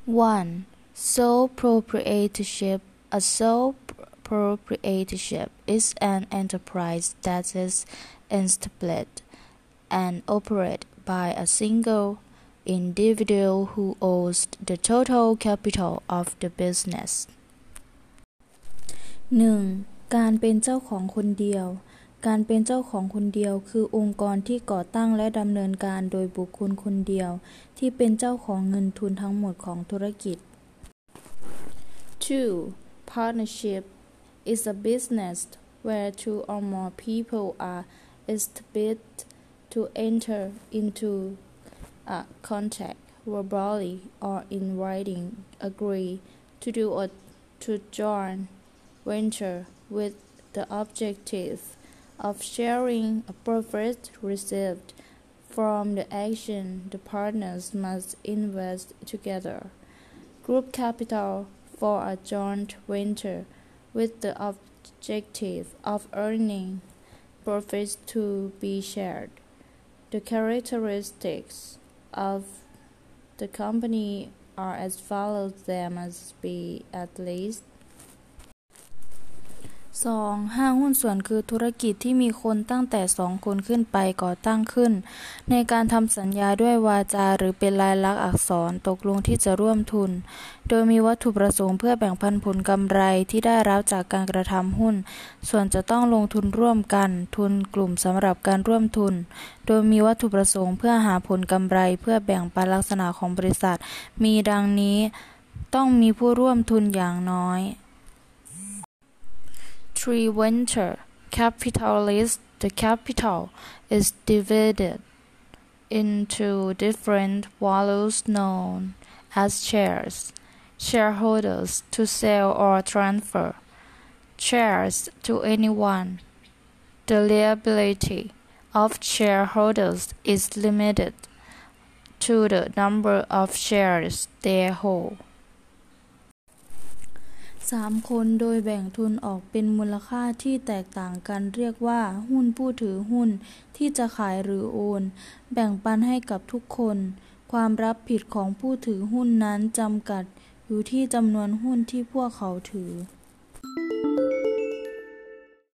1. Sole proprietorship. A sole proprietorship is an enterprise that is established and operated by a single individual who owns the total capital of the business. 1. การเป็นเจ้าของคนเดียวการเป็นเจ้าของคนเดียวคือองค์กรที่ก่อตั้งและดำเนินการโดยบุคคลคนเดียวที่เป็นเจ้าของเงินทุนทั้งหมดของธุรกิจ 2. Partnership is a business where two or more people are established to enter into a contract verbally or in writing agree to do or to join venture with the objective of sharing a profit received from the action. The partners must invest together. Group capital for a joint venture with the objective of earning profits to be shared. The characteristics of the company are as follows. There must be at least 2. ห้างหุ้นส่วนคือธุรกิจที่มีคนตั้งแต่2คนขึ้นไปก่อตั้งขึ้นในการทำสัญญาด้วยวาจาหรือเป็นลายลักษณ์อักษรตกลงที่จะร่วมทุนโดยมีวัตถุประสงค์เพื่อแบ่งปันผลกำไรที่ได้รับจากการกระทำหุ้นส่วนจะต้องลงทุนร่วมกันทุนกลุ่มสำหรับการร่วมทุนโดยมีวัตถุประสงค์เพื่อหาผลกำไรเพื่อแบ่งปันลักษณะของบริษัทมีดังนี้ต้องมีผู้ร่วมทุนอย่างน้อย 3. Venture capitalist. The capital is divided into different values known as shares. Shareholders to sell or transfer shares to anyone. The liability of shareholders is limited to the number of shares they hold. 3 คนโดยแบ่งทุนออกเป็นมูลค่าที่แตกต่างกันเรียกว่าหุ้นผู้ถือหุ้นที่จะขายหรือโอนแบ่งปันให้กับทุกคนความรับผิดของผู้ถือหุ้นนั้นจำกัดอยู่ที่จำนวนหุ้นที่พวกเขาถือ